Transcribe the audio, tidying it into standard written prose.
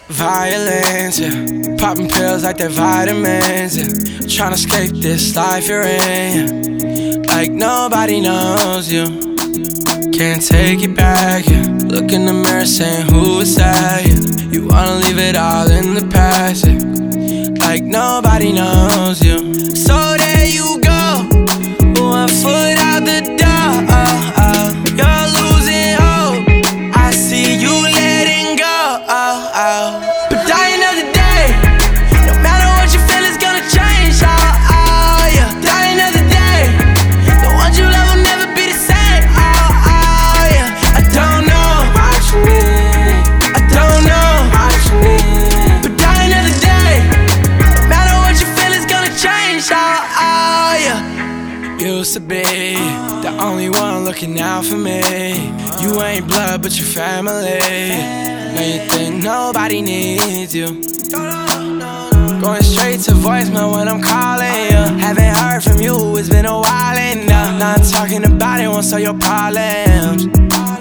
Violence, yeah. Popping pills like they're vitamins, yeah. Tryna escape this life you're in, yeah. Like nobody knows you. Can't take it back, yeah. Look in the mirror saying who is that, yeah. You wanna leave it all in the past, yeah. Like nobody knows you. So there you go, 1 foot out the door. You're losing hope, I see you letting go. But dying of the day, no matter what you feel, it's gonna change. Yeah. Dying of the day, the ones you love will never be the same. Yeah. I don't know what you need, I don't know what you need. But dying of the day, no matter what you feel, it's gonna change. Yeah. Used to be the only one looking out for me. You ain't blood, but you family. Now you think nobody needs you. Going straight to voicemail when I'm calling you. Haven't heard from you, it's been a while and not talking about it won't solve your problems.